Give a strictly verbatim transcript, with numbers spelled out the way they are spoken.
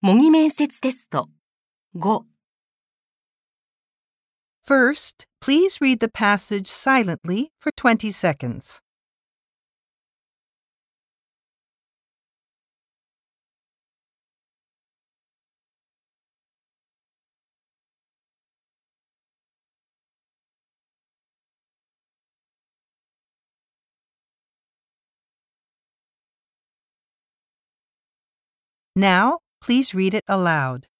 模擬面接テストご First, please read the passage silently for twenty seconds. Now, please read it aloud.